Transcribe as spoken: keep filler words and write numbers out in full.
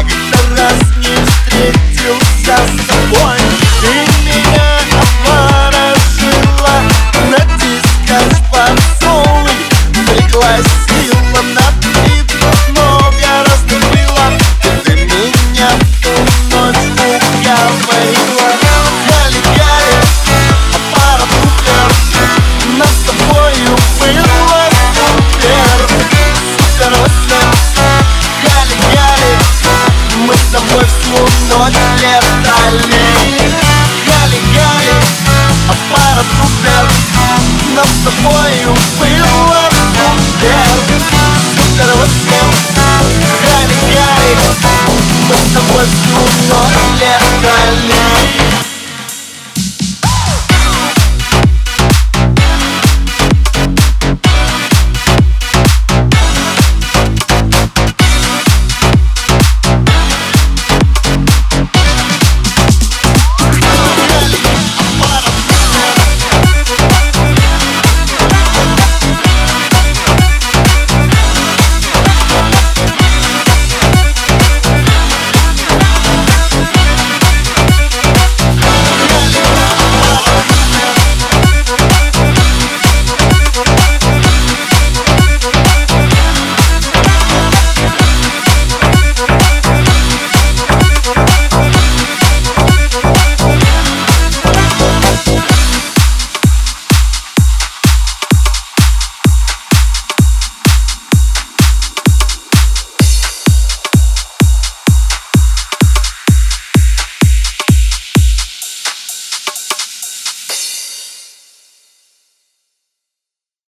как-то раз не встретился с тобой. Ты меня обворожила, натискаешь поцелуй, пригласила на пиво, но гораздо было. Ты меня в ту ночь уговорила. Гали-гали, аппарат супер, нас с тобою было супер. Супер-супер, гали-гали, мы с тобой всю ночь летали. Гали-гали, аппарат супер, нас с тобою было супер. Супер-супер, гали-гали.